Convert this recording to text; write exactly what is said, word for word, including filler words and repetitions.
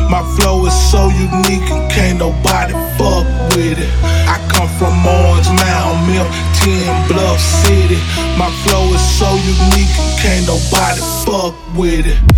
My flow is so unique and can't nobody fuck with it. I come from Orange Mound, Mill ten, Bluff City. My flow is so unique and can't nobody fuck with it.